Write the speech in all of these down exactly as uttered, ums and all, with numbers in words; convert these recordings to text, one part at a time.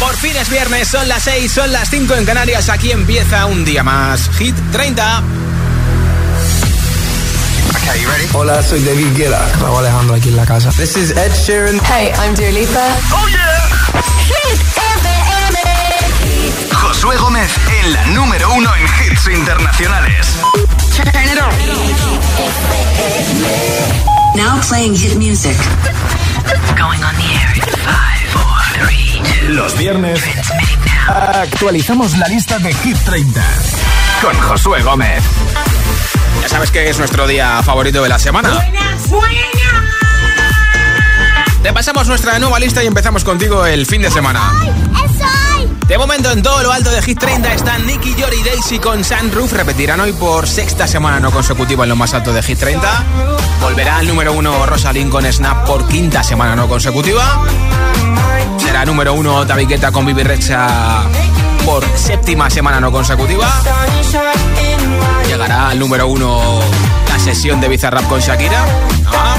Por fin es viernes, son las seis, son las cinco en Canarias. Aquí empieza un día más. Hit treinta. Okay, you ready? Hola, soy David Guetta. Raúl Alejandro aquí en la casa. This is Ed Sheeran. Hey, I'm Dua Lipa. Oh yeah. Hit F M. Josué Gómez en la número uno en hits internacionales. Turn it on. Now playing hit music. Going on the air in five, four, three, two. Los viernes actualizamos la lista de Hit treinta con Josué Gómez. Ya sabes que es nuestro día favorito de la semana. Buenas, buenas. Repasamos nuestra nueva lista y empezamos contigo el fin de semana. De momento en todo lo alto de Hit treinta están Nicky, Jory, Daisy con Sunroof. Repetirán hoy por sexta semana no consecutiva en lo más alto de Hit treinta. Volverá al número uno Rosalind con Snap por quinta semana no consecutiva. Será número uno David Guetta con Bibi Rexha por séptima semana no consecutiva. Llegará al número uno la sesión de Bizarrap con Shakira. Ah.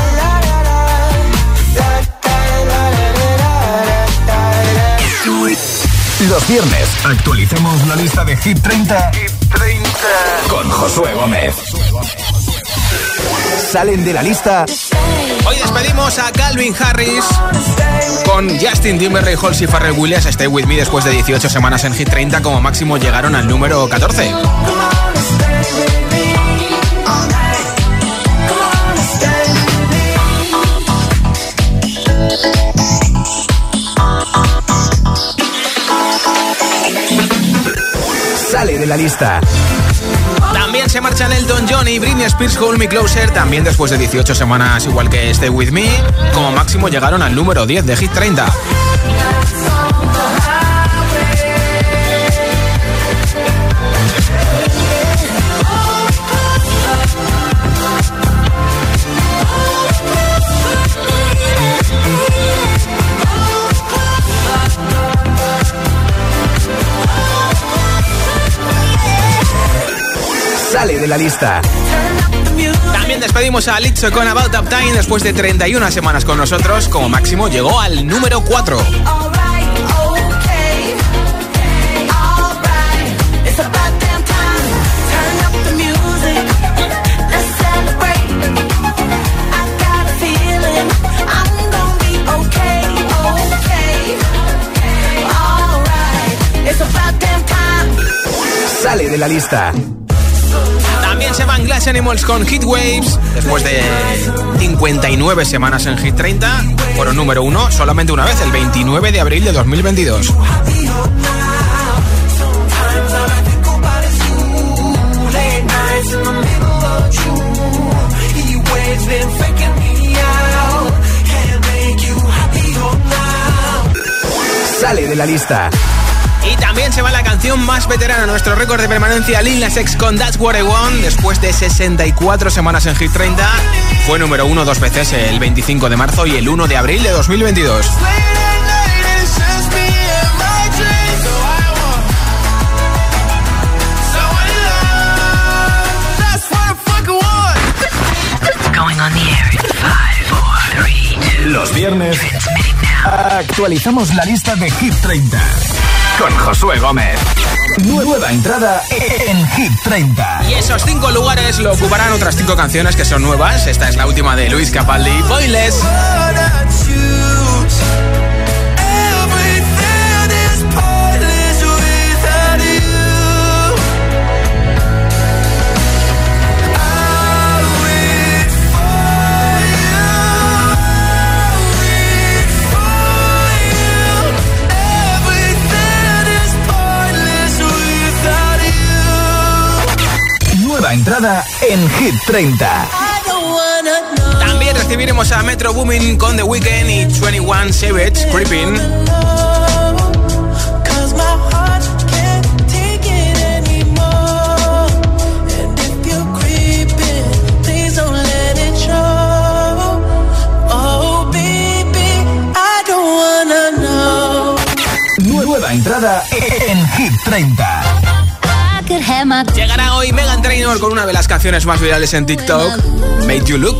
Los viernes actualizamos la lista de Hit treinta, Hit treinta con Josué Gómez. Salen de la lista. Hoy despedimos a Calvin Harris con Justin Timberlake, Halsey, Pharrell Williams, Stay With Me. Después de dieciocho semanas en Hit treinta, como máximo llegaron al número catorce. Sale de la lista. También se marchan Elton John y Britney Spears, Hold Me Closer. También después de dieciocho semanas, igual que Stay With Me, como máximo llegaron al número diez de Hit treinta. Sale de la lista. También despedimos a Lizzo con About That Time. Después de treinta y una semanas con nosotros, como máximo llegó al número cuatro. Sale de la lista. También se van Glass Animals con Heat Waves. Después de cincuenta y nueve semanas en Hit treinta, fueron número uno solamente una vez, el veintinueve de abril de dos mil veintidós. Sale de la lista. Y también se va la canción más veterana, nuestro récord de permanencia, Lil Nas X con That's What I Want. Después de sesenta y cuatro semanas en Hit treinta, fue número uno dos veces, el veinticinco de marzo y el uno de abril de dos mil veintidós. Going on the air in five, four, three, two. Los viernes actualizamos la lista de Hit treinta con Josué Gómez. Nueva entrada en Hit treinta. Y esos cinco lugares lo ocuparán otras cinco canciones que son nuevas. Esta es la última de Luis Capaldi, Pointless. Entrada en Hit treinta. También recibiremos a Metro Boomin con The Weeknd y veintiuno Savage, Creeping. Nueva entrada en Hit treinta. Llegará hoy Meghan Trainor con una de las canciones más virales en TikTok, Made You Look.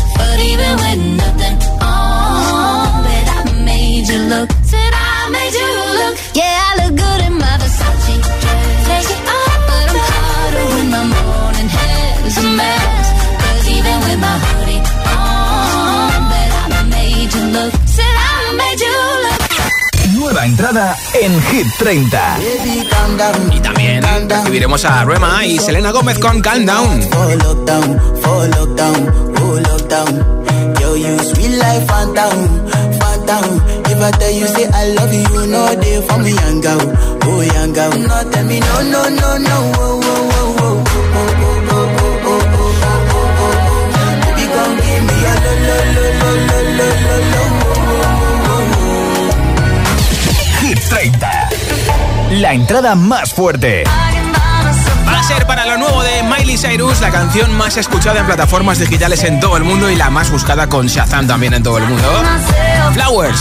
But even with nothing on, that I made you look. Said I made you look, yeah, I look good in my Versace dress. Take it off, but I'm hotter when my morning hair's a mess. Cause even with my hoodie on, that I made you look, said I made you look. Nueva entrada en Hit treinta. Y también recibiremos a Rema y Selena Gómez con Calm Down. Yo, you sweet life, phantom, phantom. If I tell you, say I love you, no day for me, young girl, oh, young girl. No, tell me, no, no, no, no, oh, oh, oh, oh, oh, oh, oh, oh, oh, oh. Baby, come give me a lo, lo, lo, lo, lo, lo, lo, Hit treinta. La entrada más fuerte. Va a ser para lo nuevo de Miley Cyrus, la canción más escuchada en plataformas digitales en todo el mundo y la más buscada con Shazam también en todo el mundo. Flowers.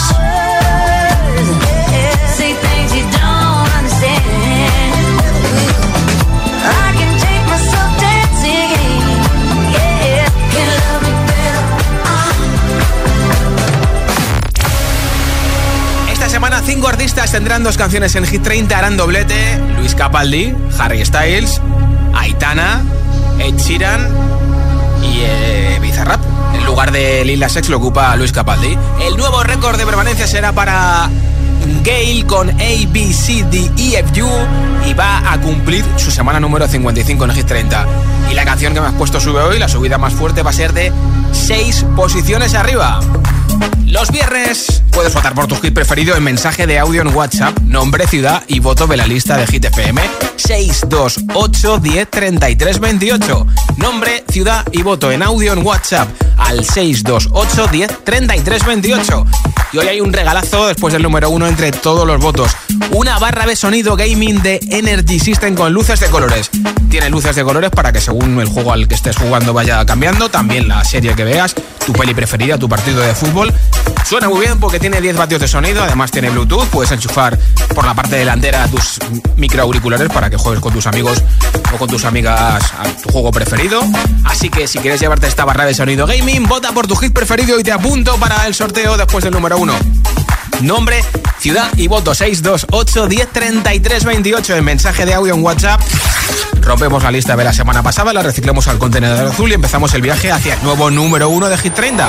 Esta semana cinco artistas tendrán dos canciones en Hit treinta, harán doblete. Luis Capaldi, Harry Styles, Aitana, Ed Sheeran y eh, Bizarrap. En lugar de Lil Nas X lo ocupa Luis Capaldi. El nuevo récord de permanencia será para Gale con A, B, C, D, E, F, U y va a cumplir su semana número cincuenta y cinco en Hit treinta. Y la canción que me has puesto sube hoy, la subida más fuerte va a ser de seis posiciones arriba. Los viernes puedes votar por tu hit preferido en mensaje de audio en WhatsApp, nombre, ciudad y voto de la lista de Hit F M. seis dos ocho diez treinta y tres veintiocho. Nombre, ciudad y voto en audio en WhatsApp al seis dos ocho diez treinta y tres veintiocho. Y hoy hay un regalazo después del número uno entre todos los votos. Una barra de sonido gaming de Energy System con luces de colores. Tiene luces de colores para que según el juego al que estés jugando vaya cambiando. También la serie que veas, tu peli preferida, tu partido de fútbol. Suena muy bien porque tiene diez vatios de sonido. Además tiene Bluetooth. Puedes enchufar por la parte delantera tus microauriculares para que juegues con tus amigos o con tus amigas a tu juego preferido. Así que si quieres llevarte esta barra de sonido gaming, vota por tu hit preferido y te apunto para el sorteo después del número uno. Nombre, ciudad y voto seis dos ocho diez treinta y tres veintiocho en mensaje de audio en WhatsApp. Rompemos la lista de la semana pasada, la reciclamos al contenedor azul y empezamos el viaje hacia el nuevo número uno de Hit treinta.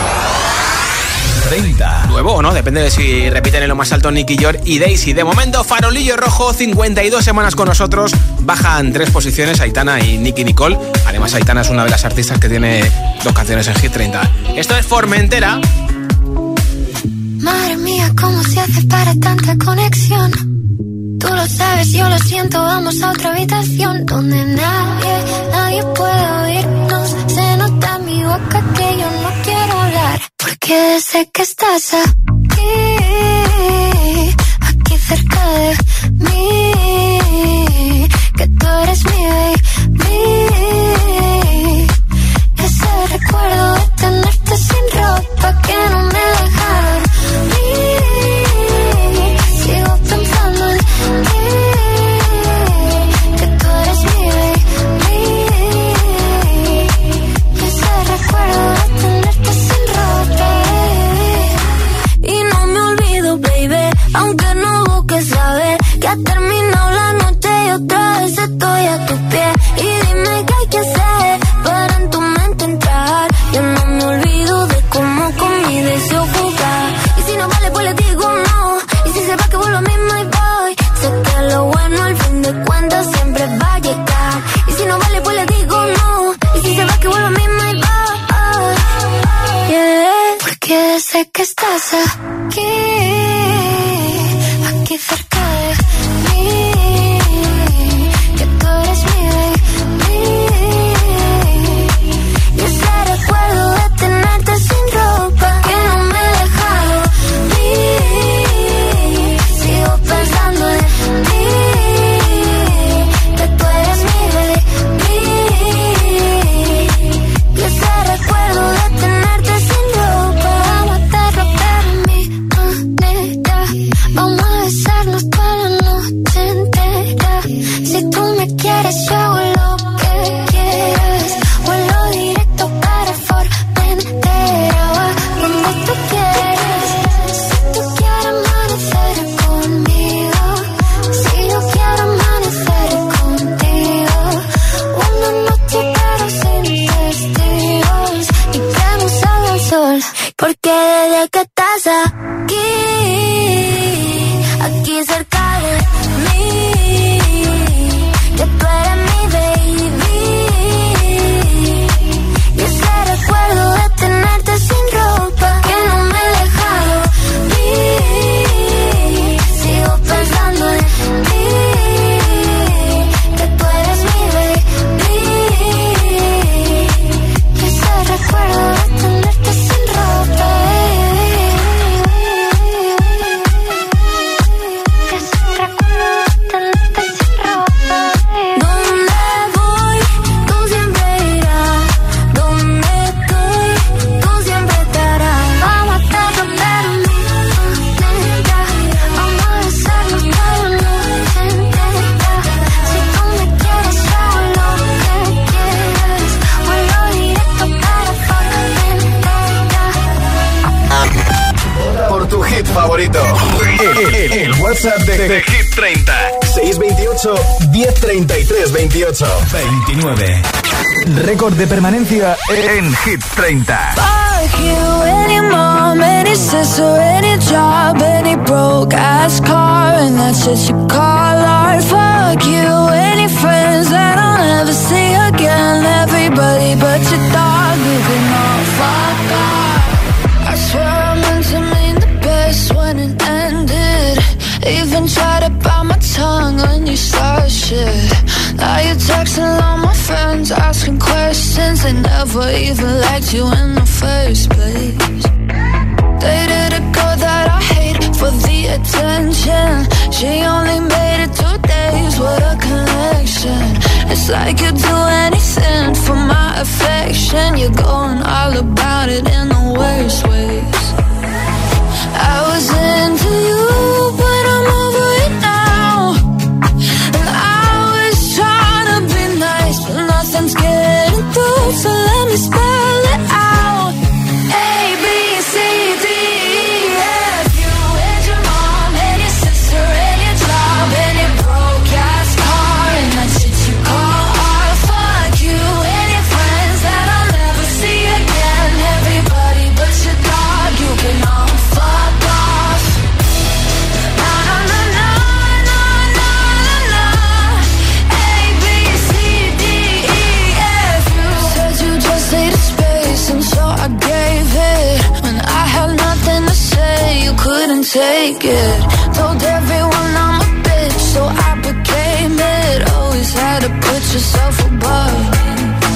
treinta. Nuevo o no, depende de si repiten en lo más alto Nicky York y Daisy. De momento, Farolillo Rojo, cincuenta y dos semanas con nosotros. Bajan tres posiciones Aitana y Nicky Nicole. Además, Aitana es una de las artistas que tiene dos canciones en Hit treinta. Esto es Formentera. Madre mía, ¿cómo se hace para tanta conexión? Tú lo sabes, yo lo siento, vamos a otra habitación donde nadie, nadie puede oírnos. Se nota en mi boca que yo no quiero hablar, porque sé que estás aquí, aquí cerca de mí, que tú eres mi baby. Ese recuerdo de tenerte sin ropa que no me dejaron ir. Sigo pensando en ti, que tú eres mi baby. Ese recuerdo de tenerte sin ropa. Y WhatsApp de, de Hit treinta. seis veintiocho, diez treinta y tres veintiocho. veintinueve. Récord de permanencia en Hit treinta. Fuck you, any mom, any sister, any job, any broke ass car, and that's what you call art. Fuck you, any friends that I'll never see again, everybody but your dog, you can all fuck off. I swear I meant to mean the best when it ended. Even tried to bite my tongue when you started shit. Now you're texting all my friends, asking questions. They never even liked you in the first place. Dated a girl that I hate for the attention. She only made it two days, what a connection. It's like you'd do anything for my affection. You're going all about it in the worst ways. I was into you, but I'm over it now. And I was trying to be nice, but nothing's getting through, so let me spell it out. A, B, C, D, E, F. You and your mom and your sister and your job and your broke ass car, and that shit you call art. Fuck you and your friends that I'll never see again, everybody but your dog, you can all fuck off. Na na na na na na na na. A, B, C, D, E, F. You said you just needed space, and so I gave it. When I had nothing to say, you couldn't take it. Told everyone I'm a bitch, so I became it. Always had to put yourself above me.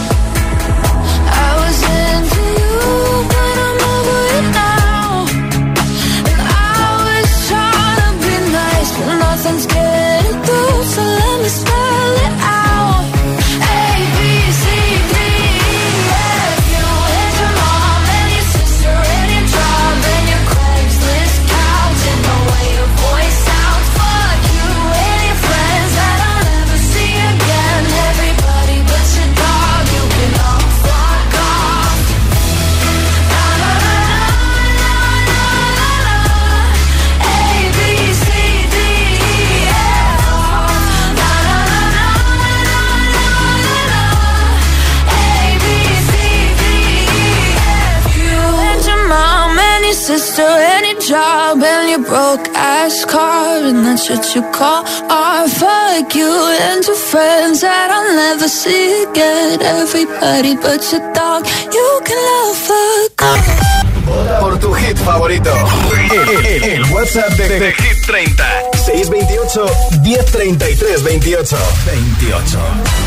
I was into you, but I'm over it now. And I was trying to be nice, but nothing's getting through, so let me spell it out. A, B, C, D, E, F. You and your mom and your sister and your job and your Craigslist couch and the way your voice sounds. Fuck you and your friends that I'll never see again, everybody but your dog, you can all fuck off. Na na na na na na na. A, B, C, D, E, F. Na na na na na na na na. A, B, C, D, E, F. You and your mom and your sister and your job and your broke ass car, and that's what you call art. Fuck you and your friends that I'll never see again, everybody but your dog, you can love fuck off. Por tu hit favorito. El, el, el WhatsApp de, de Hit treinta. seis veintiocho, diez treinta y tres veintiocho. veintiocho.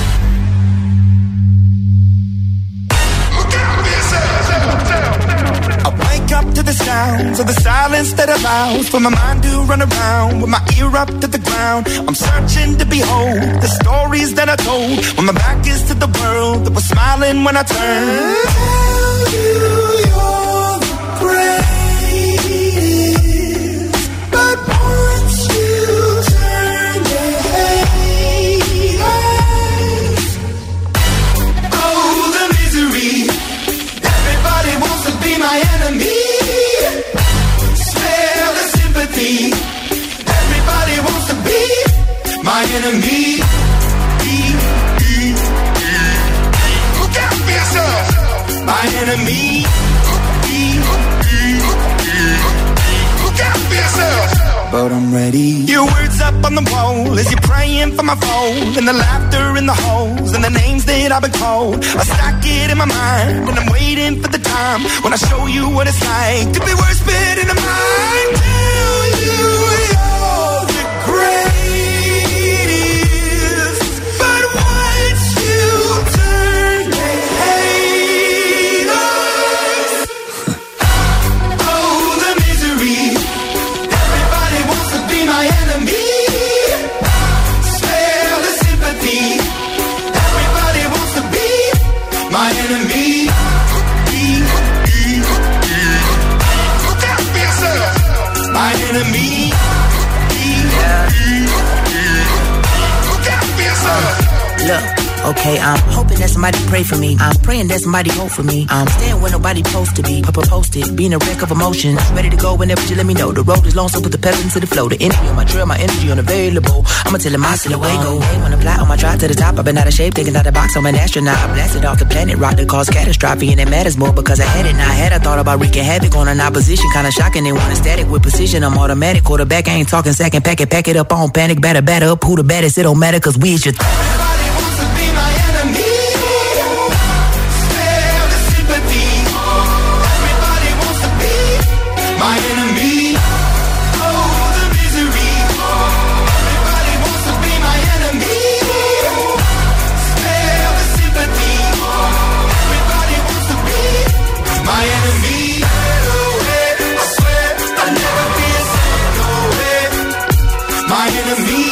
I wake up to the sounds of the silence that allows for my mind to run around with my ear up to the ground. I'm searching to behold the stories that I told when my back is to the world that was smiling when I turned. Tell you you're the greatest, but once you turn your hate eyes, oh the misery. Everybody wants to be my enemy. Spare the sympathy. Everybody wants to be my enemy. Look out for yourself. My enemy. Look out for yourself. But I'm ready. Your words up on the wall as you're praying for my phone, and the laughter in the holes and the names that I've been called. I stack it in my mind and I'm waiting for the time when I show you what it's like to be worse fit in the mind. Tell you you're the greatest, but once you turn they hate us. Oh the misery. Everybody wants to be my enemy. Spare the sympathy. Everybody wants to be my enemy. Look out for yourself. My enemy. Look out for yourself. Look, okay? I'm hoping that somebody pray for me. I'm praying that somebody hope for me. I'm staying where nobody supposed to be. Papa posted, being a wreck of emotions. Ready to go whenever you let me know. The road is long, so put the pedal into the flow. The energy on my trail, my energy unavailable. I'ma tell him I still away go. Hey, when I fly on my drive to the top, I've been out of shape, thinking out the box. I'm an astronaut. I blasted off the planet, rock that caused catastrophe, and it matters more because I had it. Now I had I thought about wreaking havoc on an opposition, kinda shocking. They want a static with precision. I'm automatic, quarterback. I ain't talking second, pack it, pack it up on panic, batter, batter up. Who the baddest? It don't matter, cause we is your. Everybody wants to be my enemy. Spare the sympathy. Everybody wants to be my enemy. Oh, the misery. Everybody wants to be my enemy. Spare the sympathy. Everybody wants to be my enemy. No way, I swear I'll never be a saint. No way, my enemy.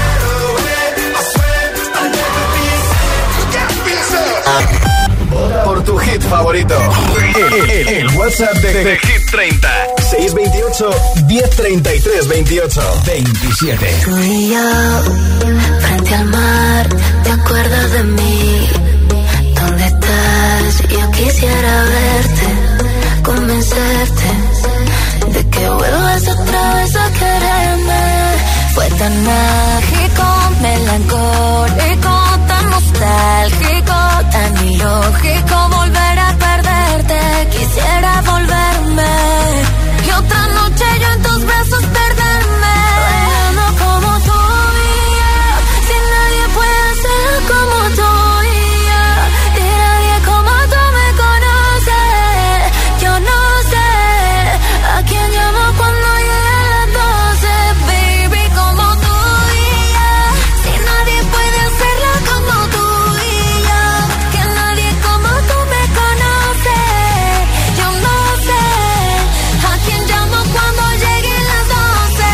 Por tu hit favorito. El, el, el WhatsApp de, de Hit treinta. seis veintiocho, diez treinta y tres, veintiocho, veintisiete. Tú y yo, frente al mar, ¿te acuerdas de mí? ¿Dónde estás? Yo quisiera verte, convencerte de que vuelvas otra vez a quererme. Fue tan mágico, melancólico, tan nostálgico, tan ilógico volver a perderte. Quisiera volverme y otra noche yo en tus brazos perderme. Bailando como tú y yo, si nadie puede hacerlo como tú y yo, y nadie como tú me conoce. Yo no sé a quién llamo cuando llegue a las doce, baby, como tú y yo, si nadie puede hacerlo como tú y yo, que nadie como tú me conoce. Yo no sé a quién llamo cuando lleguen las doce.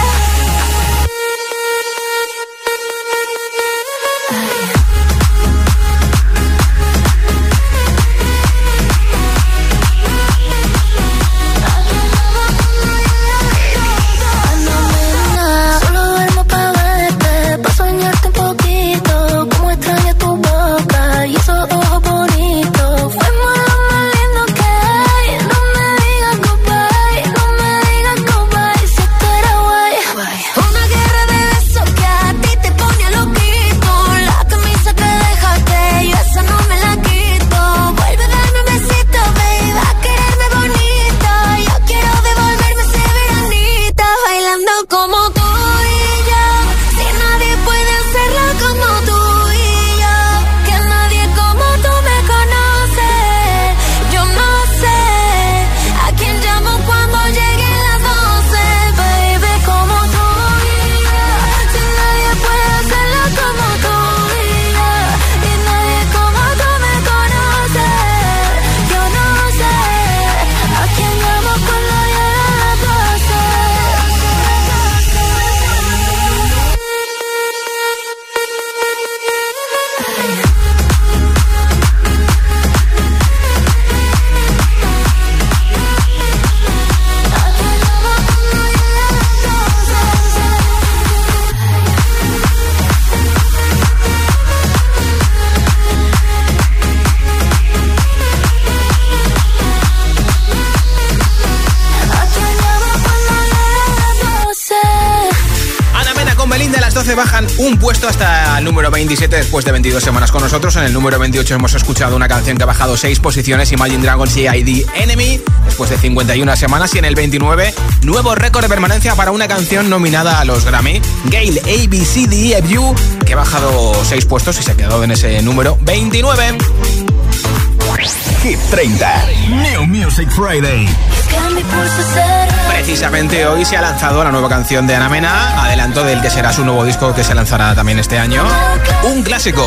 Solo duermo pa' verte, pa' soñarte un poquito, como extraño tu boca y esos ojos bonitos. Fuimos lo más lindo que hay, no me digas goodbye, no me digas goodbye, si tú eres guay. Una guerra de besos que a ti te pone loquito, la camisa que dejaste, yo esa no me la quito. Vuelve a darme un besito, baby, a quererme bonito, yo quiero devolverme ese veranito, bailando como tú y yo, si nadie puede hacerlo como tú y yo, que nadie como tú me conoce. Yo no sé a quién llamo cuando lleguen las doce, baby, como tú y yo, si nadie puede hacerlo como tú y yo, y nadie como tú me conoce. Yo no sé a quién llamo cuando lleguen las doce. Ana Mena con Belinda, a las doce bajan un puesto hasta el número veintisiete después de veintidós semanas con nosotros. En el número veintiocho hemos escuchado una canción que ha bajado seis posiciones, Imagine Dragons y I D Enemy, después de cincuenta y una semanas. Y en el veintinueve, nuevo récord de permanencia para una canción nominada a los Grammy, Gail A B C D E F U, que ha bajado seis puestos y se ha quedado en ese número veintinueve. Hit treinta. New Music Friday. Precisamente hoy se ha lanzado la nueva canción de Ana Mena, adelanto del que será su nuevo disco que se lanzará también este año. Un clásico.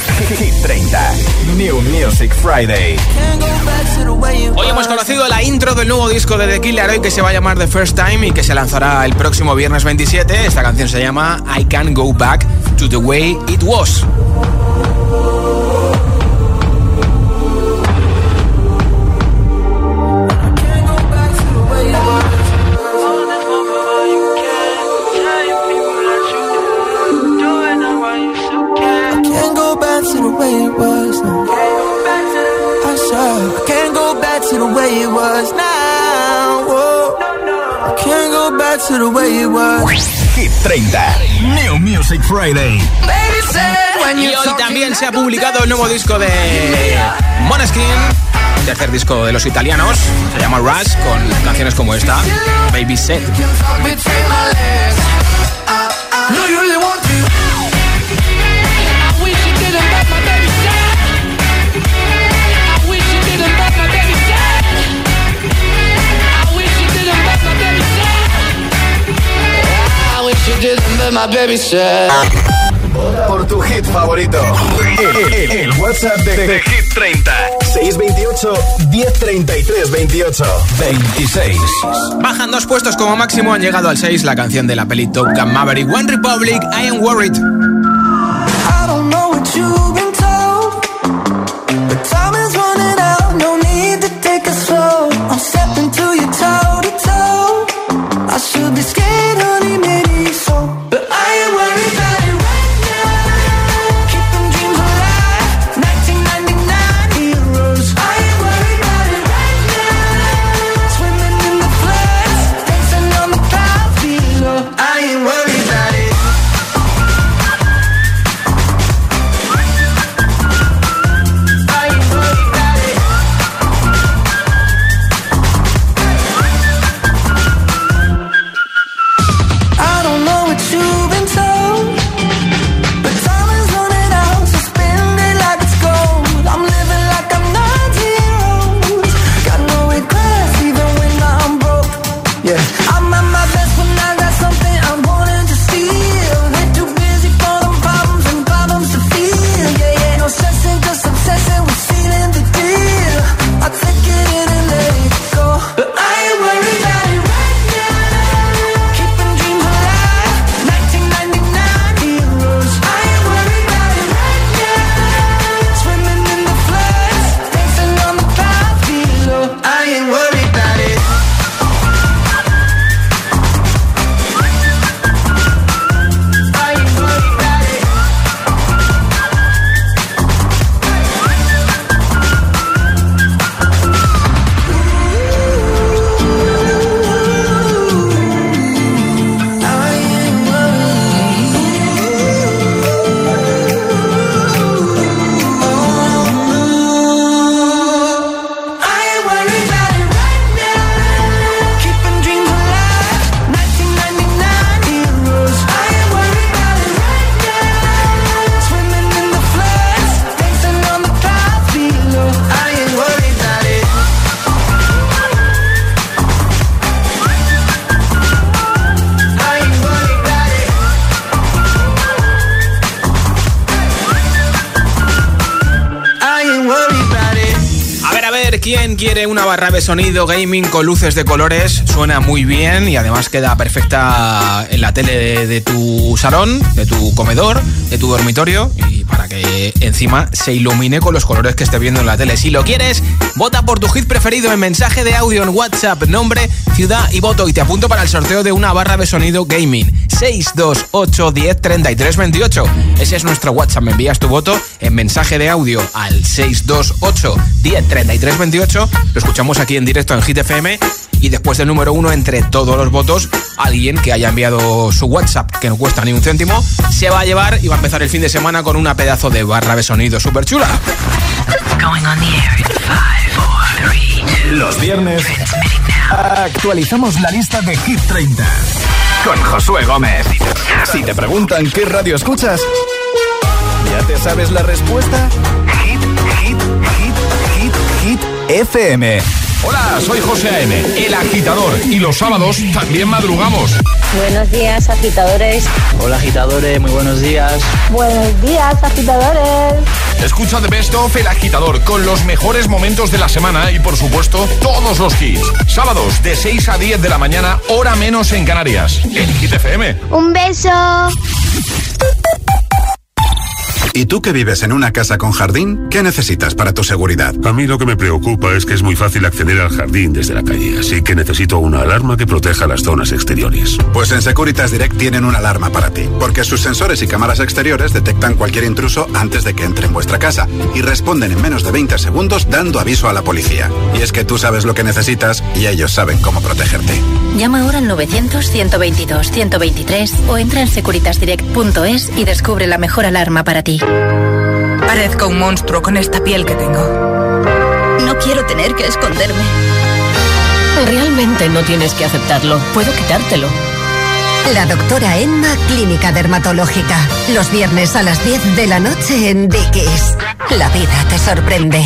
Hit treinta. New Music Friday. Hoy hemos conocido la intro primero del nuevo disco de The Kid Laroi, que se va a llamar The First Time y que se lanzará el próximo viernes veintisiete. Esta canción se llama I Can't Go Back to the Way It Was. To the way it was now. I said I can't go back to the way it was now. Whoa. I can't go back to the way it was. Hit treinta, New Music Friday. Y hoy también se ha publicado el nuevo disco de Måneskin, el tercer disco de los italianos. Se llama Rush, con canciones como esta, Baby Said. Por tu hit favorito, el, el, el WhatsApp de, de Hit treinta, seis veintiocho, diez treinta y tres veintiocho, veintiséis. Bajan dos puestos como máximo, han llegado al seis la canción de la peli Top Gun Maverick, One Republic, I Am Worried. I don't know what you've been told, but time is running out, no need to take it slow. I'm stepping to you toe to toe. I should be scared, honey, maybe so, but I ain't worried about it right now. Keeping dreams alive, nineteen ninety-nine heroes. I ain't worried about it right now. Swimming in the floods, dancing on the clouds below. I ain't worried about it. ¿Quién quiere una barra de sonido gaming con luces de colores? Suena muy bien y además queda perfecta en la tele de, de tu salón, de tu comedor, de tu dormitorio, y para que encima se ilumine con los colores que esté viendo en la tele. Si lo quieres, vota por tu hit preferido en mensaje de audio en WhatsApp, nombre, ciudad y voto, y te apunto para el sorteo de una barra de sonido gaming. seis dos ocho, diez, treinta y tres, veintiocho. Ese es nuestro WhatsApp. Me envías tu voto en mensaje de audio al seis dos ocho, diez, treinta y tres, veintiocho. Lo escuchamos aquí en directo en Hit F M. Y después del número uno, entre todos los votos, alguien que haya enviado su WhatsApp, que no cuesta ni un céntimo, se va a llevar y va a empezar el fin de semana con una pedazo de barra de sonido súper chula. Los viernes actualizamos la lista de Hit treinta con Josué Gómez. Si te preguntan qué radio escuchas, ¿ya te sabes la respuesta? Hit, hit, hit, hit, hit F M. Hola, soy José A M, el agitador, y los sábados también madrugamos. Buenos días, agitadores. Hola, agitadores, muy buenos días. Buenos días, agitadores. Escucha The Best of El Agitador con los mejores momentos de la semana y, por supuesto, todos los hits. Sábados de seis a diez de la mañana, hora menos en Canarias. En Hit F M. Un beso. ¿Y tú que vives en una casa con jardín? ¿Qué necesitas para tu seguridad? A mí lo que me preocupa es que es muy fácil acceder al jardín desde la calle, así que necesito una alarma que proteja las zonas exteriores. Pues en Securitas Direct tienen una alarma para ti, porque sus sensores y cámaras exteriores detectan cualquier intruso antes de que entre en vuestra casa y responden en menos de veinte segundos dando aviso a la policía. Y es que tú sabes lo que necesitas y ellos saben cómo protegerte. Llama ahora al novecientos, ciento veintidós, ciento veintitrés o entra en securitas direct punto es y descubre la mejor alarma para ti. Parezco un monstruo con esta piel que tengo. No quiero tener que esconderme. Realmente no tienes que aceptarlo. Puedo quitártelo. La doctora Emma, Clínica Dermatológica. Los viernes a las diez de la noche en Dickies. La vida te sorprende.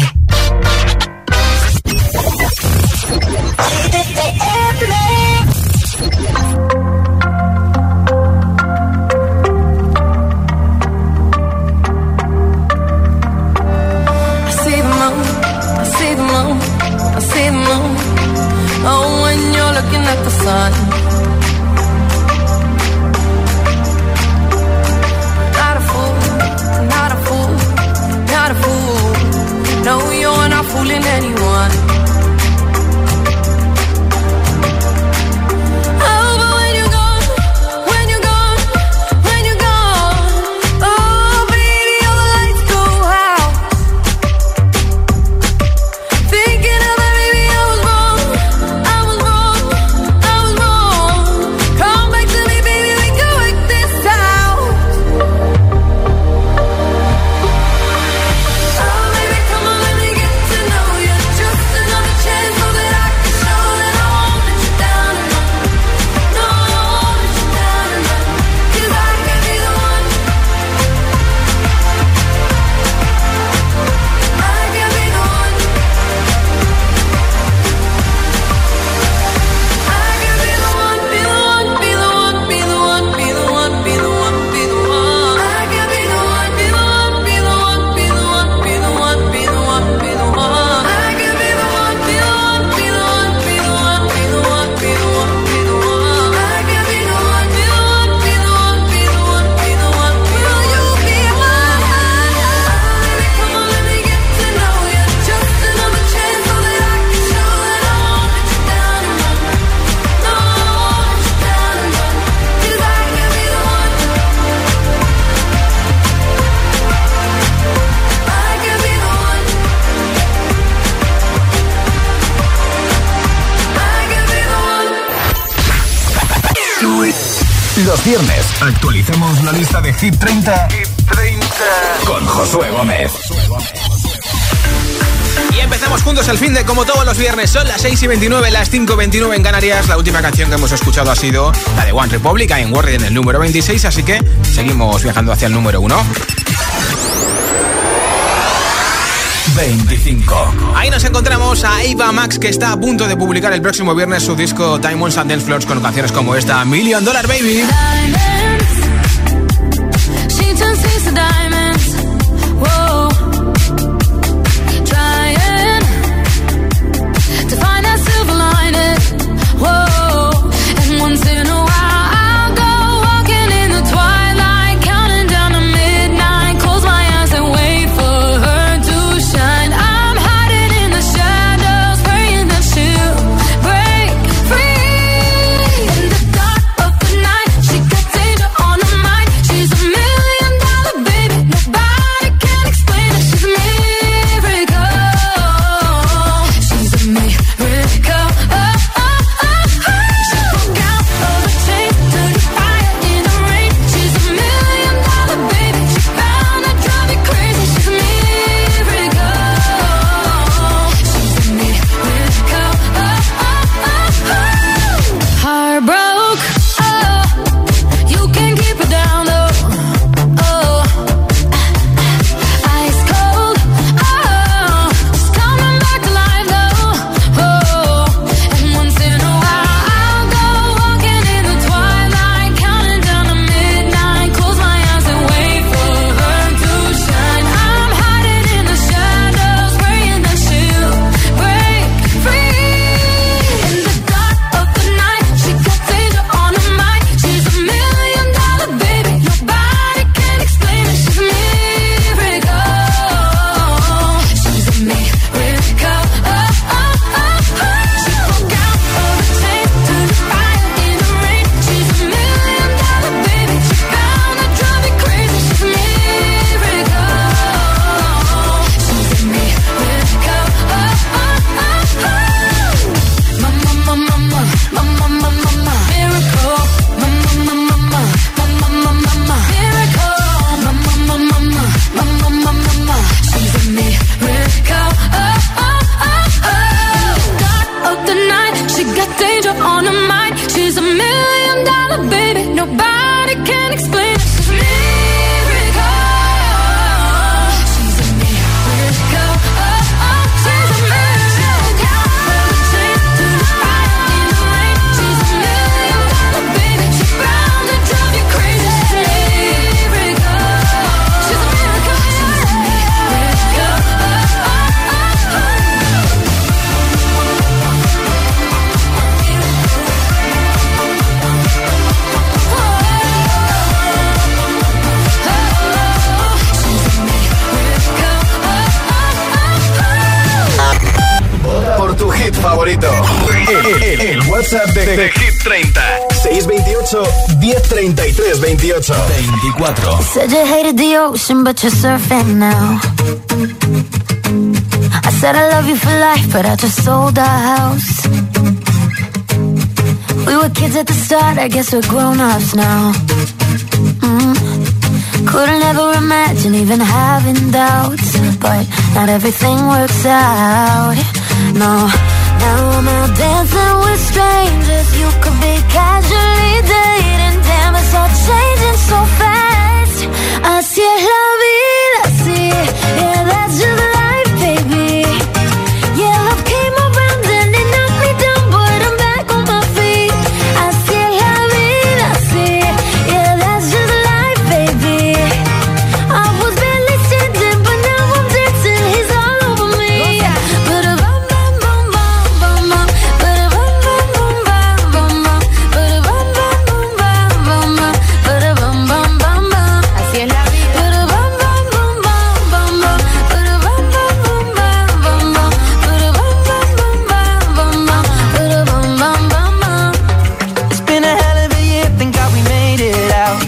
Oh, when you're looking at the sun. Not a fool, not a fool, not a fool. No, you're not fooling anyone. Oh, but when you're gone, when you're gone, when you're gone, oh, baby, all the lights go out. Thinking of that, baby, I was wrong. I was wrong, I was wrong. Come back to me, baby, we can work this out. Oh, baby, come on, let me get to know you. Just another chance so that I can show that I won't let you down and run. No, I won't let you down and run. 'Cause I can be the one. I can be the one. I can be the one, be the one, be the one, be the one, be the one, be the one, be the one. I can be the one, be the one, be the one, be the one, be the one, be the one, be the one. I can be the one, be the one, be the one, be the one, be the one, be the one, be the one. I can be the one, be the one, be the one, be the one, be the one. Will you be mine? Baby, come on, let me get to know you. Just another chance so that I can show that I won't let you down and run. No, I won't let you down and run. 'Cause I can be the one. I can be the one. I can be the one. Los viernes actualicemos la lista de Hit treinta, Hit treinta con Josué Gómez. Y empezamos juntos el fin de como todos los viernes. Son las seis y veintinueve, las cinco y veintinueve en Canarias. La última canción que hemos escuchado ha sido la de One Republic, I'm Worried, en el número veintiséis. Así que seguimos viajando hacia el número uno. veinticinco. Ahí nos encontramos a Ava Max, que está a punto de publicar el próximo viernes su disco Time on and Dance Floors con canciones como esta, Million Dollar Baby. She turns things to diamonds. Whoa. Trying to find that silver lining. Whoa. And once in a while I'll go walking in the twilight, counting down to midnight. Close my eyes and wait for her to shine. I'm hiding in the shadows, praying that she'll break free. In the dark of the night, she got danger on her mind. She's a million dollar baby, nobody can explain it. favorito. El, el, el WhatsApp de, de, de Hit treinta. seis veintiocho, diez treinta y tres veintiocho. veinticuatro. Said you hated the ocean, but you're surfing now. I said I love you for life, but I just sold our house. We were kids at the start, I guess we're grown-ups now. Mm. Couldn't ever imagine even having doubts, but not everything works out. No, now I'm out dancing with strangers. You could be casually dating. Damn, it's all changing so fast. Así es la vida, así. Yeah, that's just life, baby. Yeah, love came around and it knocked me down, but I'm back on my feet. Así es la vida, así. Yeah, that's just life, baby. I was barely standing, but now I'm dancing. He's all over me. Ba-da-bum, bum, bum, bum, bum, ba-da-bum, bum, bum, bum, bum, ba-da-bum, bum, bum, bum, bum, ba-da-bum, bum, bum, bum. Así es la vida. Ba-da-bum, bum, bum, bum, bum, bum, ba-da-bum, bum, bum, bum, bum, bum, ba-da-bum, bum, bum, bum, bum, bum, ba-da-bum, bum, bum, bum. It's been a hell of a year, thank God we made it out.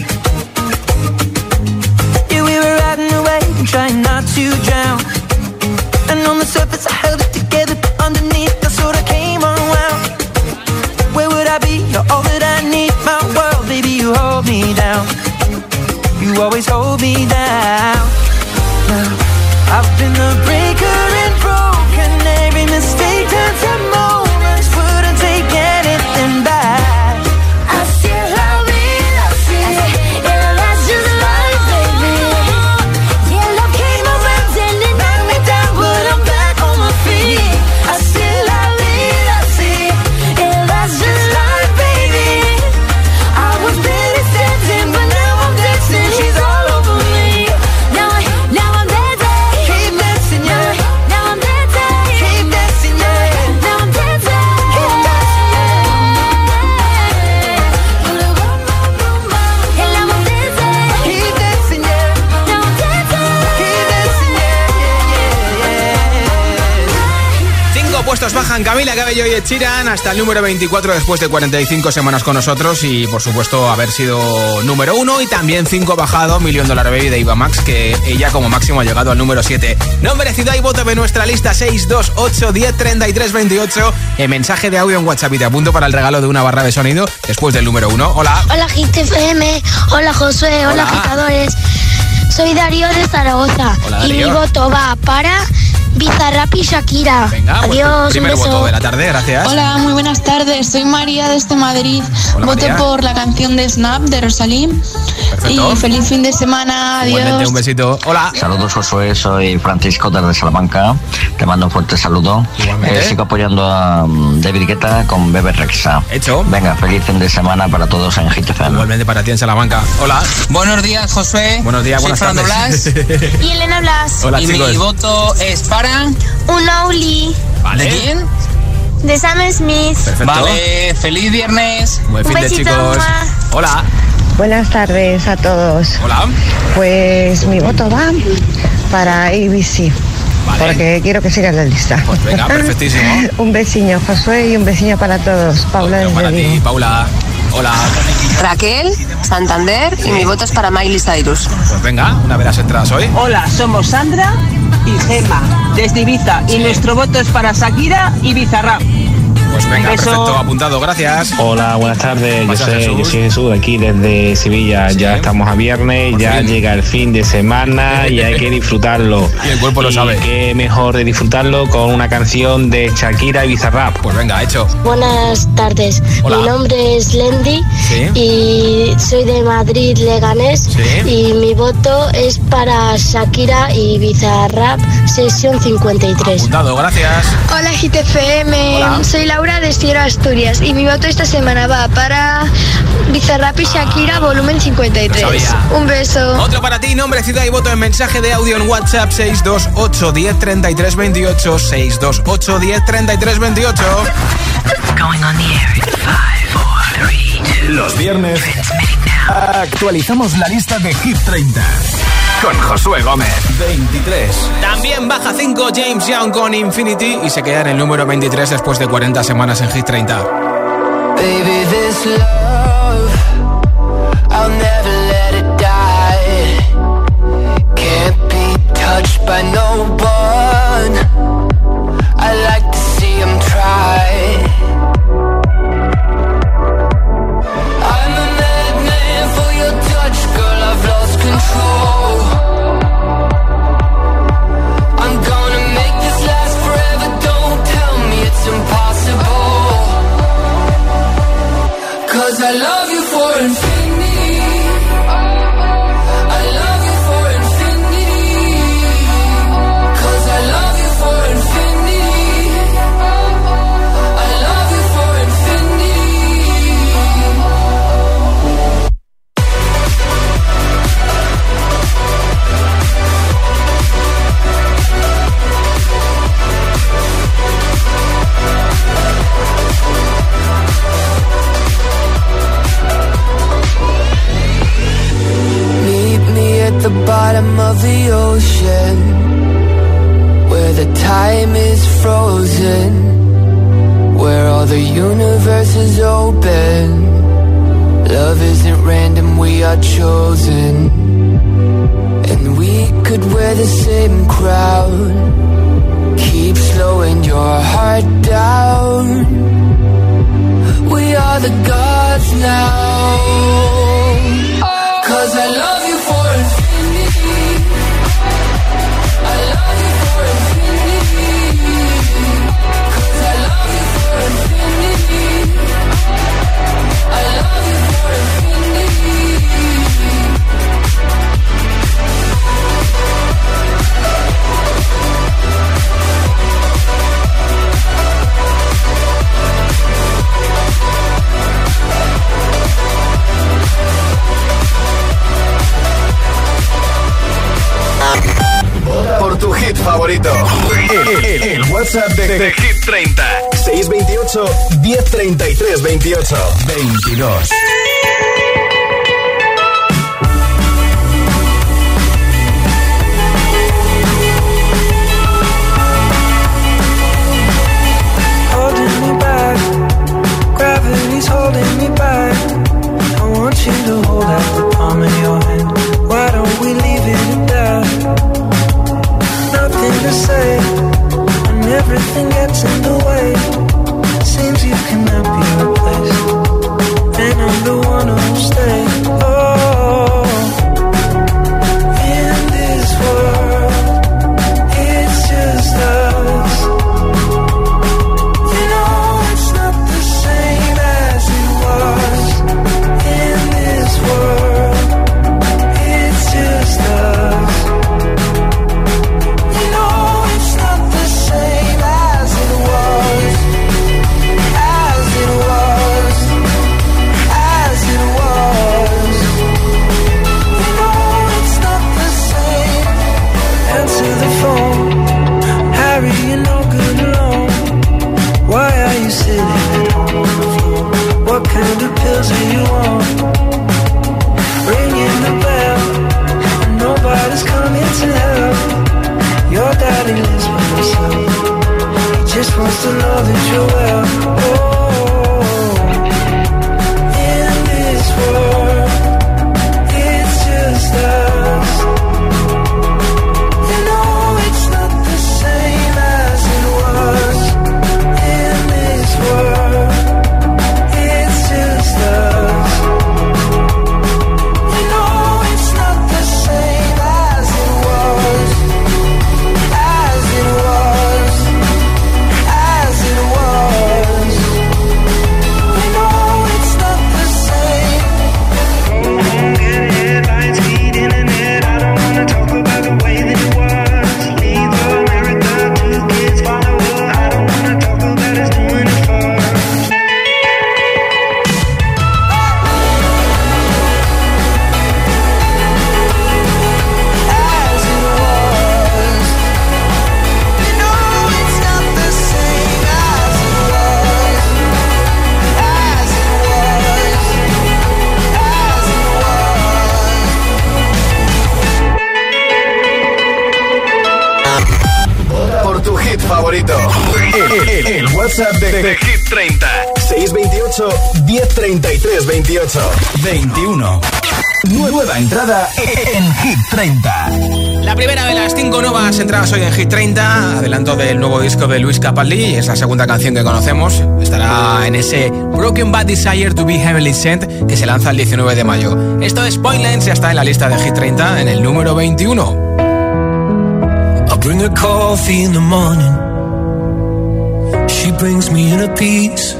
Yeah, we were riding away and trying not to drown. And on the surface I held it together, but underneath I sort of came unwound. Where would I be? You're all that I need, my world, baby, you hold me down. You always hold me down. Now, I've been the breaker and broken. Every mistake turns to moments, wouldn't take anything back. Así es la vida, así. Yeah, that's just life, baby. Yeah, love came around and it knocked me down, but I'm back on my feet. Así es la vida, así. Yeah, that's just life, baby. I was barely standing, but now I'm dancing. She's all over me. Now, I, now I'm dancing. Keep dancing, yeah. Now I'm dancing. Keep dancing, yeah. Now I'm dancing. Keep dancing, yeah. And now I'm dancing. Keep dancing, yeah. Now I'm dancing. Keep dancing, yeah, yeah, yeah. Cinco puestos bajan Camila Cabello y Ed Sheeran hasta el número veinticuatro después de cuarenta y cinco semanas con nosotros y por supuesto haber sido número uno y también cinco bajado Million Dollar Baby de Eva Max, que ella como máximo ha llegado al número siete. No merecido hay voto de nuestra lista seis dos ocho diez treinta y tres veintiocho. En mensaje de audio en WhatsApp y te apunto para el regalo de una barra de sonido después del número uno. Hola. Hola Hit F M, hola Josué, hola, Hola. agitadores. Soy Darío de Zaragoza. Hola, y Darío. mi voto va para Bizarrap y Shakira. Venga, pues, Adiós, un primer beso. voto de la tarde, gracias. Hola, muy buenas tardes. Soy María desde Madrid. Hola, Voto María. por la canción de Snap de Rosalín. Perfecto. Y feliz fin de semana. Igualmente, Adiós. un besito. Hola. Saludos Josué, soy Francisco desde Salamanca. Te mando un fuerte saludo. Igualmente. Eh, sigo apoyando a um, David Guetta con Bebe Rexha. Hecho. Venga, feliz fin de semana para todos en Hit F M. Igualmente para ti en Salamanca. Hola. Buenos días, Josué. Buenos días, Soy buenas Fernando tardes. Blas. Y Elena Blas. Hola, y chicos. mi voto es para... Un Only Vale. ¿De quién? de Sam Smith. Perfecto. Vale, feliz viernes. Buen Un fin de besito, chicos. mua. Hola. Buenas tardes a todos. Hola. Pues mi voto va para A B C, Vale. porque quiero que siga en la lista. Pues venga, perfectísimo. Un besiño, Josué, y un besiño para todos. Paula Otro para desde ti, Vigo. Paula. Hola. Raquel, Santander y mi voto es para Miley Cyrus. Pues venga, una de las entradas hoy. Hola, somos Sandra y Gemma desde Ibiza y nuestro voto es para Shakira y Bizarrap. Pues venga, Beso. perfecto, apuntado, gracias. Hola, buenas tardes. Yo Pasa, soy, Jesús. yo soy Jesús, aquí desde Sevilla. Ya estamos a viernes, Por ya fin. llega el fin de semana y hay que disfrutarlo. Y el cuerpo lo Y sabe. qué mejor de disfrutarlo con una canción de Shakira y Bizarrap. Pues venga, hecho. Buenas tardes. Hola. Mi nombre es Lendi Sí. y soy de Madrid, Leganés. Sí. Y mi voto es para Shakira y Bizarrap, sesión cincuenta y tres. Apuntado, gracias. Hola G T F M, Hola. soy Laura de Sierra Asturias y mi voto esta semana va para Bizarrap y Shakira volumen cincuenta y tres. Lo sabía. Un beso. Otro para ti, nombre, ciudad y voto en mensaje de audio en WhatsApp seis dos ocho diez treinta y tres veintiocho. seis dos ocho diez treinta y tres veintiocho. Going on the air in five, four, three, two. Los viernes actualizamos la lista de Hit treinta. con Josué Gómez. veintitrés. También baja cinco James Young con Infinity y se queda en el número veintitrés después de cuarenta semanas en Hit treinta. Baby, this love, I'll never let it die. Can't be touched by no one. I like to see him try. I'm a madman for your touch, girl, I've lost control. I'm gonna make this last forever, don't tell me it's impossible. 'Cause I love you for infinity. I love you for infinity. 'Cause I love you for infinity. I love you for infinity. Meet me at the bottom of the ocean, where the time is frozen, where all the universe is open. Love isn't random, we are chosen. And we could wear the same crown, keep slowing your heart down. We are the gods now. 'Cause I love you for infinity. I love you for infinity. 'Cause I love you for infinity. I love you for infinity. Por tu hit favorito. El, el, el WhatsApp de, de Hit treinta. seis veintiocho, diez treinta y tres, veintiocho. veintidós. Holding me back, gravity's holding me back. I want you to hold out the palm of your hand. Why don't we leave it at that? Nothing to say, and everything gets in the way. Seems you cannot be replaced, and I'm the one who'll stay. Oh, in this world, it's just us. You know it's not the same as it was. In this world, it's just us. You know it's not the same as it was. As it was. As it was. You know it's not the same. Answer the phone, Harry, you're no good alone. Why are you sitting at home on the floor? What kind of pills are you on? Ringing the bell, and nobody's coming to help. Your daddy lives by himself. He just wants to know that you're well. Oh, in this world, it's just us. You know it's not the same as it was. In this world, it's just us. You know it's not the same as it was. As it was. As it was. El, el, el WhatsApp de, de Hit treinta. seis veintiocho, diez treinta y tres, veintiocho. veintiuno. Nueva entrada en Hit treinta. La primera de las cinco nuevas entradas hoy en Hit treinta. Adelanto del nuevo disco de Luis Capaldi. Es la segunda canción que conocemos. Estará en ese Broken Bad Desire to be Heavenly Sent que se lanza el diecinueve de mayo. Esto es Pointless, ya está en la lista de Hit treinta en el número veintiuno. I bring her coffee in the morning. She brings me in a piece.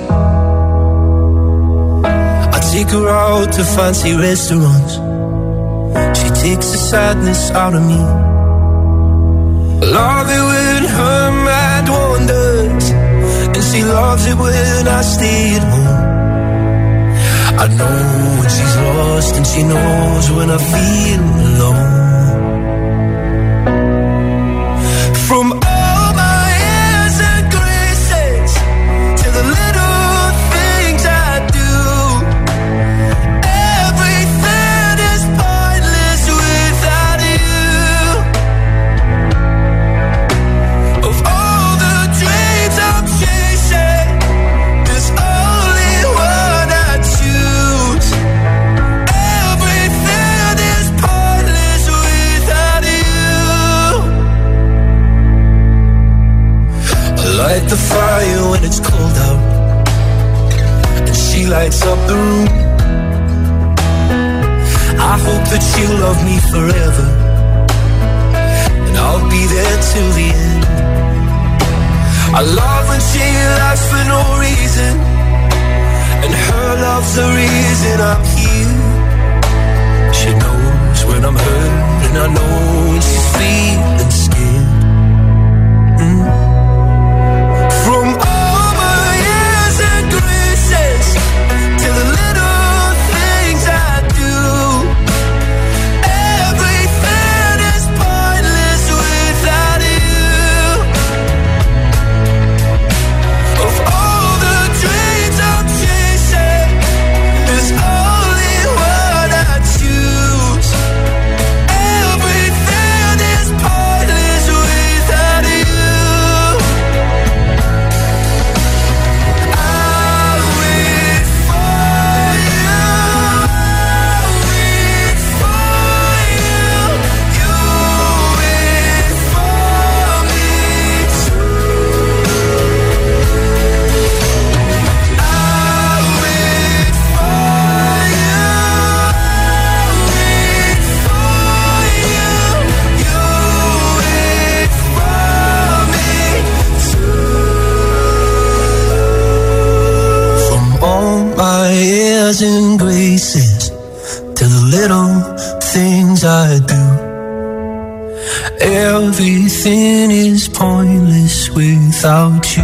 Take her out to fancy restaurants. She takes the sadness out of me. Love it when her mind wanders, and she loves it when I stay at home. I know when she's lost, and she knows when I feel alone. From all my airs and graces to the little light the fire when it's cold out, and she lights up the room. I hope that she'll love me forever, and I'll be there till the end. I love when she laughs for no reason, and her love's the reason I'm here. She knows when I'm hurt, and I know when she's feeling scared. mm. From all my years and graces to the little things I do, everything is pointless without you. Of all the dreams I'm chasing, there's only one I choose. Everything is pointless without you. Airs and graces to the little things I do. Everything is pointless without you.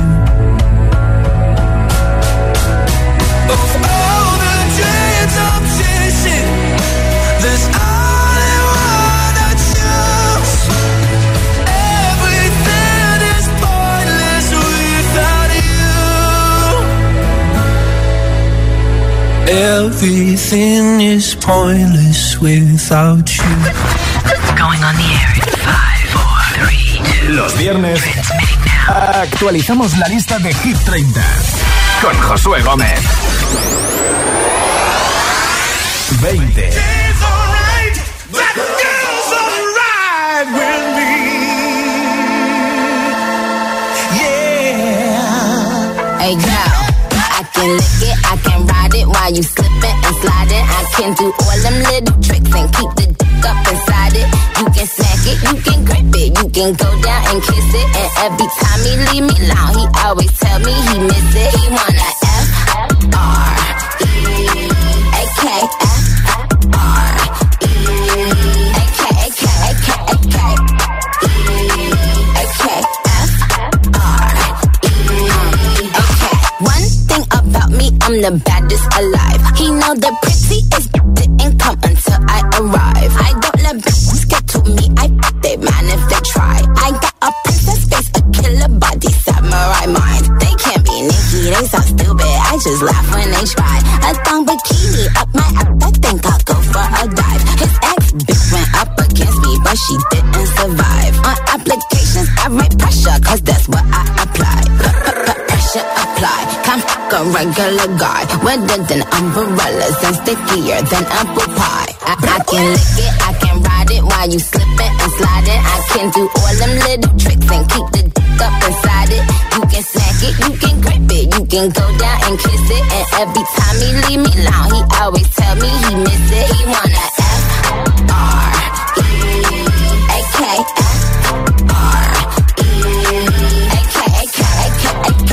Of all the dreams I'm chasing, there's only one I choose. Everything is pointless without you. Everything is pointless without you. Going on the air in five, four, three, two. Los viernes actualizamos la lista de Hit treinta con Josué Gómez. veinte. Hey girl, I can lick it, I can ride it while you slipping and sliding. I can do all them little tricks and keep the dick up inside it. You can smack it, you can grip it, you can go down and kiss it. And every time he leave me alone, he always tell me he miss it. He wanna F R E A K F R E A K A K A K A K A K F R E A K. One thing about me, I'm the baddest alive. He know the prettiest didn't come until I arrive. I don't let bitches get to me, I f*** they man if they try. I got a princess face, a killer body, samurai mind. They can't be Nicki, they so stupid, I just laugh when they try. A thong bikini up my ass, I think I'll go for a dive. His ex bitch went up against me, but she didn't survive. On applications, I write pressure, cause that's what I apply. regular guy. Wetter than umbrellas and stickier than apple pie. I, I can lick it, I can ride it while you slipping and sliding. I can do all them little tricks and keep the dick up inside it. You can smack it, you can grip it, you can go down and kiss it. And every time he leave me alone, he always tell me he miss it. He wanna F R E A K F R E A K A K A K A K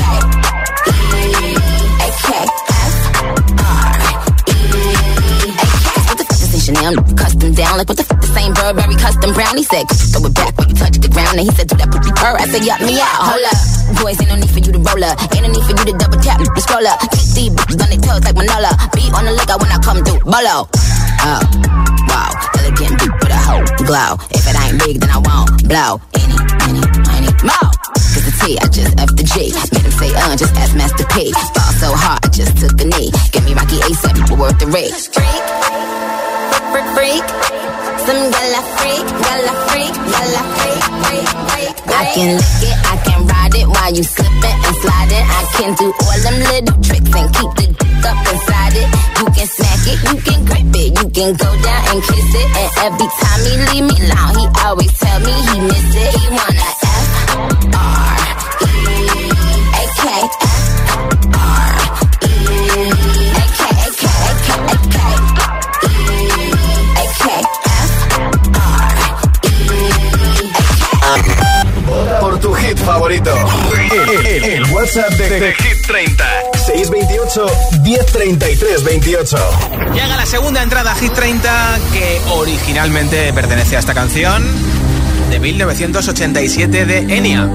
A K F R E A K. What the fuck is this Chanel? Custom down, like what the fuck the same Burberry custom brown? He said, throw it back when you touch the ground. And he said, do that pussy purr. I said, yup me out, hold up. Boys, ain't no need for you to roll up. Ain't no need for you to double tap, to scroll up. Keep these bitches on their toes like Manola. Be on the lookout when I come through, bolo. Oh, wow, elegant beat with a whole glow. If it ain't big, then I won't blow. Any, any, any, more. Cause the T, I just F the G. Made him say, uh, just ask Master P. Fall so hard, I just took a knee. Get me Rocky ASAP, but worth the risk. Freak, freak, freak. Some gala freak, gala freak, gala freak, freak, freak. I can lick it, I can ride it while you slipping and sliding. I can do all them little tricks and keep the dick up inside it. You can smack it, you can grip it, you can go down and kiss it. And every time he leave me alone, he always tell me he miss it. He wanna F R E A K F R E A K A K A K A K A K. Por tu hit favorito. El, el, el WhatsApp de, de, de Hit treinta. seis veintiocho, diez treinta y tres veintiocho. Llega la segunda entrada a Hit treinta que originalmente pertenece a esta canción de mil novecientos ochenta y siete de Enya.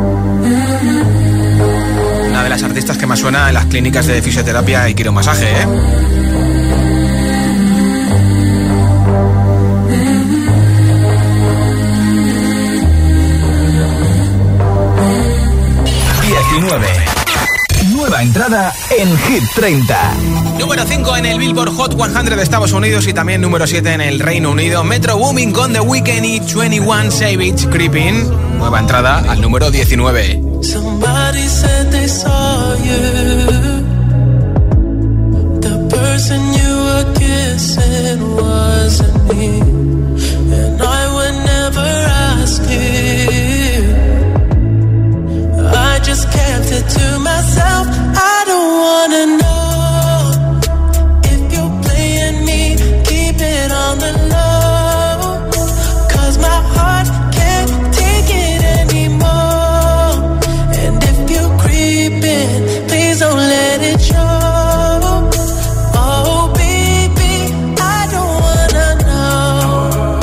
Una de las artistas que más suena en las clínicas de fisioterapia y quiromasaje, ¿eh? diecinueve. Nueva entrada en Hit treinta. Número cinco en el Billboard Hot cien de Estados Unidos y también número siete en el Reino Unido. Metro Boomin con The Weeknd y veintiuno Savage, Creeping. Nueva entrada al número diecinueve. Somebody said they saw you. The person you were kissing wasn't me. And I would never ask you. I just kept it to myself. I don't wanna know if you're playing me. Keep it on the low, 'cause my heart can't take it anymore. And if you're creeping, please don't let it show. Oh baby, I don't wanna know.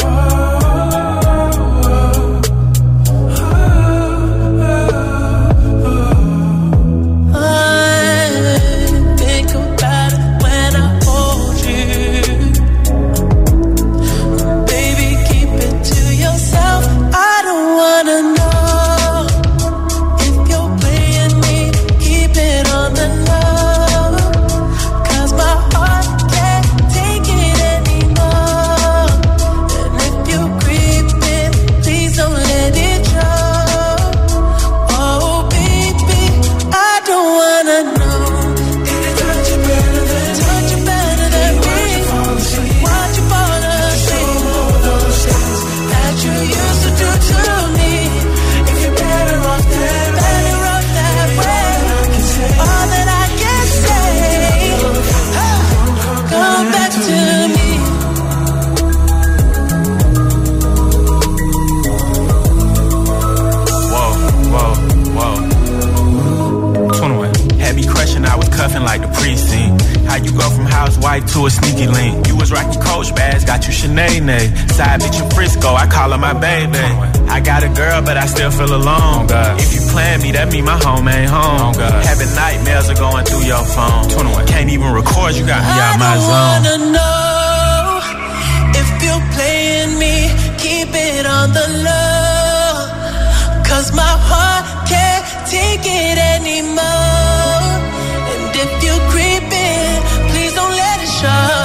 To a sneaky link. You was rocking Coach bags, got you Sinead. Side bitch in Frisco, I call her my baby. I got a girl, but I still feel alone. Oh, if you plan me, that mean my home ain't home. Oh, having nightmares are going through your phone. twenty-one Can't even record, you got me out my zone. I don't wanna know if you're playing me. Keep it on the low, 'cause my heart can't take it anymore. And if you're creeping, please don't let it show.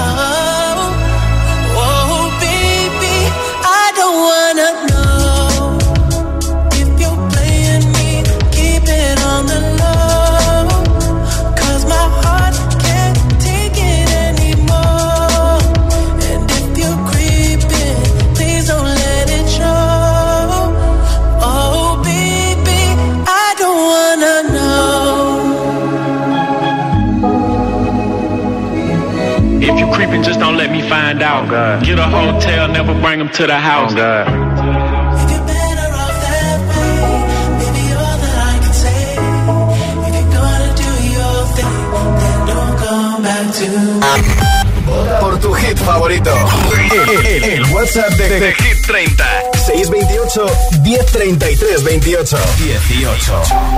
Oh baby, I don't wanna know if you're playing me. Keep it on the low, 'cause my heart If you creeping, just don't let me find out. Oh, get a hotel, never bring them to the house. Oh, God. If you're better off that way, maybe all that I can say. If you're gonna do your thing, then don't come back to me. Por tu hit favorito. El, el, el WhatsApp de, de, de Hit treinta. seis veintiocho, diez treinta y tres veintiocho. dieciocho.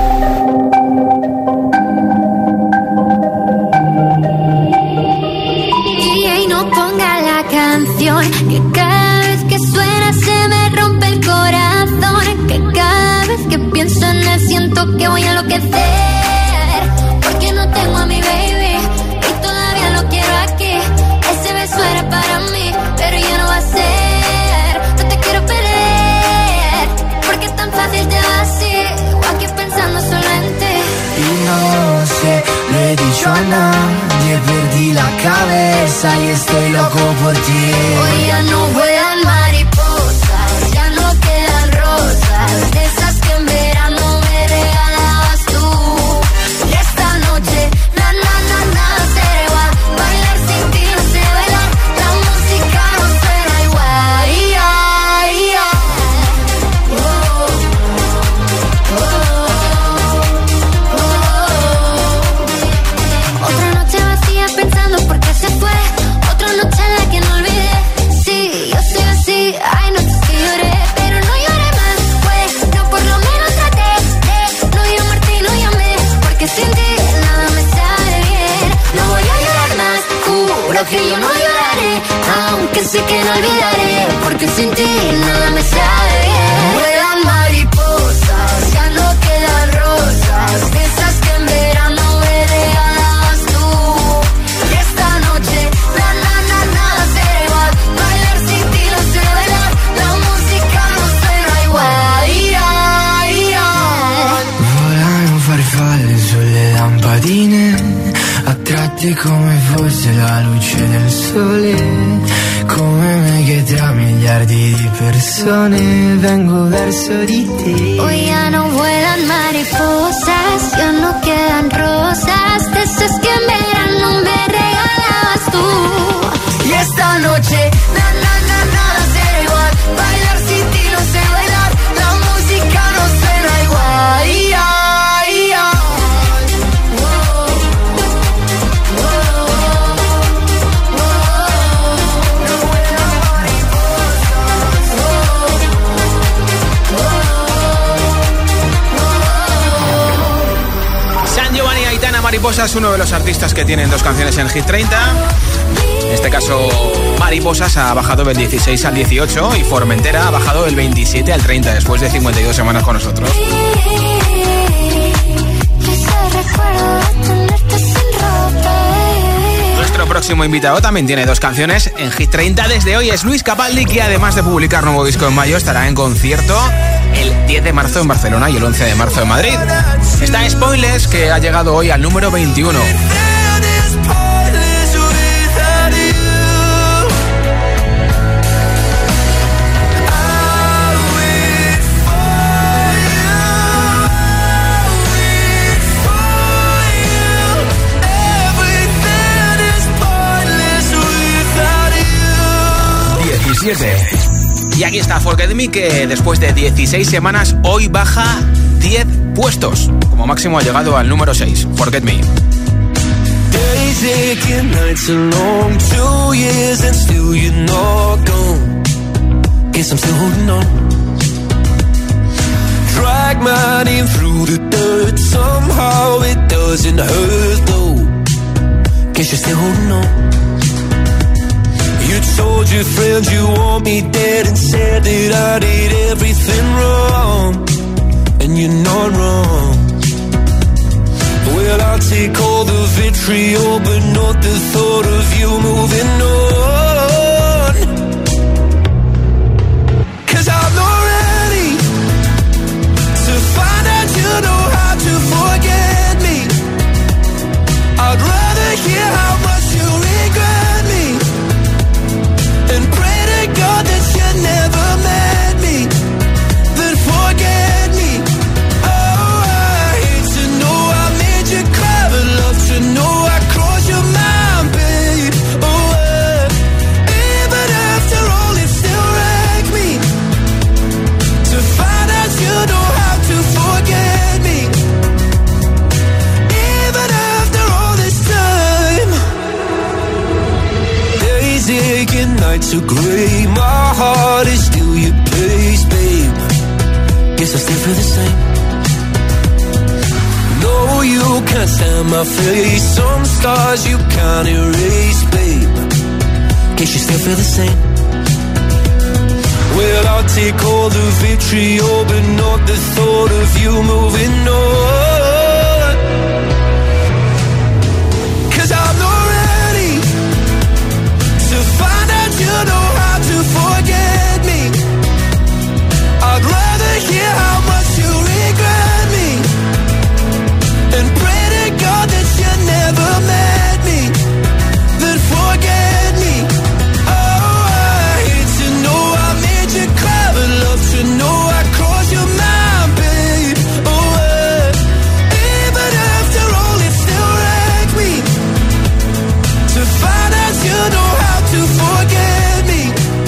Y no ponga la canción, que cada vez que suena se me rompe el corazón, que cada vez que pienso en él siento que voy a enloquecer, porque no tengo a mi baby y todavía lo quiero aquí. Ese beso era para mí, pero ya no va a ser. No te quiero perder, porque es tan fácil te vas así, o aquí pensando solo en ti. Y no sé, lo he dicho a nadie, perdí la cabeza y estoy loco por ti. Hoy ya no vuelan mariposas, ya no quedan rosas, de esas que en verano me regalabas tú. Y esta noche, na na na nada será igual, bailar sin ti no sé bailar, la música no suena igual. Yeah, yeah. Oh, oh, oh. Otra noche vacía pensando por qué se fue, otra noche en la que no olvidé. Sí, yo soy así, hay noches que lloré, pero no lloré más, pues yo por lo menos traté de no llamarte y no llamé, porque sin ti nada me sale bien. No voy a llorar más, juro que yo no lloraré, aunque sé que no olvidaré, porque sin ti nada me sale bien. Vuelan mariposas, ya no quedan rosas, de esas que en verano me regalabas tú. Y esta noche, na na na nada será igual, bailar sin ti no sé bailar, la música no suena igual. Yeah, yeah. Volano farfalle sulle lampadine, attratti come fosse la luce del sole. Come me che tra miliardi di persone vengo verso di te. Hoy ya no vuelan mariposas, ya no quedan rosas, de esas que en verano me regalabas tú. Y esta noche, na na na nada será igual, bailar sin ti no sé bailar, la música no suena igual. Yeah, yeah. Oh, oh, oh, oh. No vuelan mariposas. Oh, oh, oh. San Giovanni y Aitana Mariposa es uno de los artistas que tienen dos canciones en Hit treinta. En este caso, Mariposas ha bajado del dieciséis al dieciocho y Formentera ha bajado del veintisiete al treinta después de cincuenta y dos semanas con nosotros. Nuestro próximo invitado también tiene dos canciones en Hit treinta desde hoy. Es Luis Capaldi, que además de publicar nuevo disco en mayo, estará en concierto el diez de marzo en Barcelona y el once de marzo en Madrid. Está Spoilers, que ha llegado hoy al número veintiuno. diecisiete. Y aquí está Forget Me, que después de dieciséis semanas hoy baja diez puestos. Como máximo ha llegado al número seis. Forget Me. Days aching, nights are long, two years and still you're not gone. Guess I'm still holding on. Drag my name through the dirt, somehow it doesn't hurt though. Guess you're still holding on. You told your friends you want me dead and said that I did everything wrong. And you're not wrong. Well, I'll take all the vitriol, but not the thought of you moving on. 'Cause I'm not ready to find out you know how to forget me. I'd rather hear how much you regret me and pray to God that you never met me, then forget me. Oh, I hate to know I made you cry, but love to know I crossed your mind, babe. aching nights are grey. My heart is still your place, babe. Guess I still feel the same. No, you can't stand my face. Some scars you can't erase, babe. Guess you still feel the same. Well, I'll take all the vitriol, but not the thought of you moving on. 'Cause I'm not ready to find out you know how to forget me. I'd rather hear how much you regret me and pray to God that you never met me, then forget me. Oh, I hate to know I made you cry, but love to know I crossed your mind, babe. Oh, uh, even after all, it still wrecked me to find out you know how to forget me.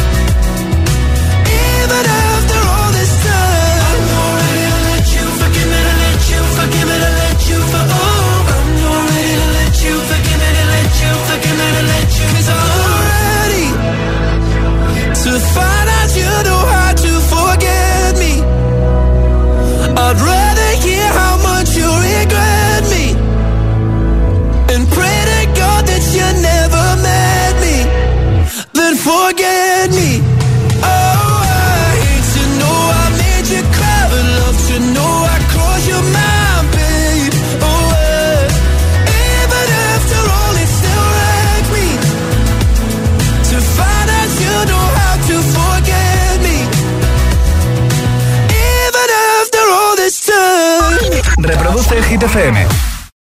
Even after all this time, I'm not ready to let you forgive me, to let you forgive me, to let you for oh, I'm not ready to let you forgive me, to let you forgive me, to let you. 'Cause I'm not ready to find out you know how to forget me. I'd rather hear how much you regret me and pray to God that you never met me, then forget me. Oh, I hate to know I made you cry, but love to know I crossed your mind, babe. Oh, uh, even after all, it still wrecked me to find out you know how to forget me. Even after all this time. Reproduce Hit F M.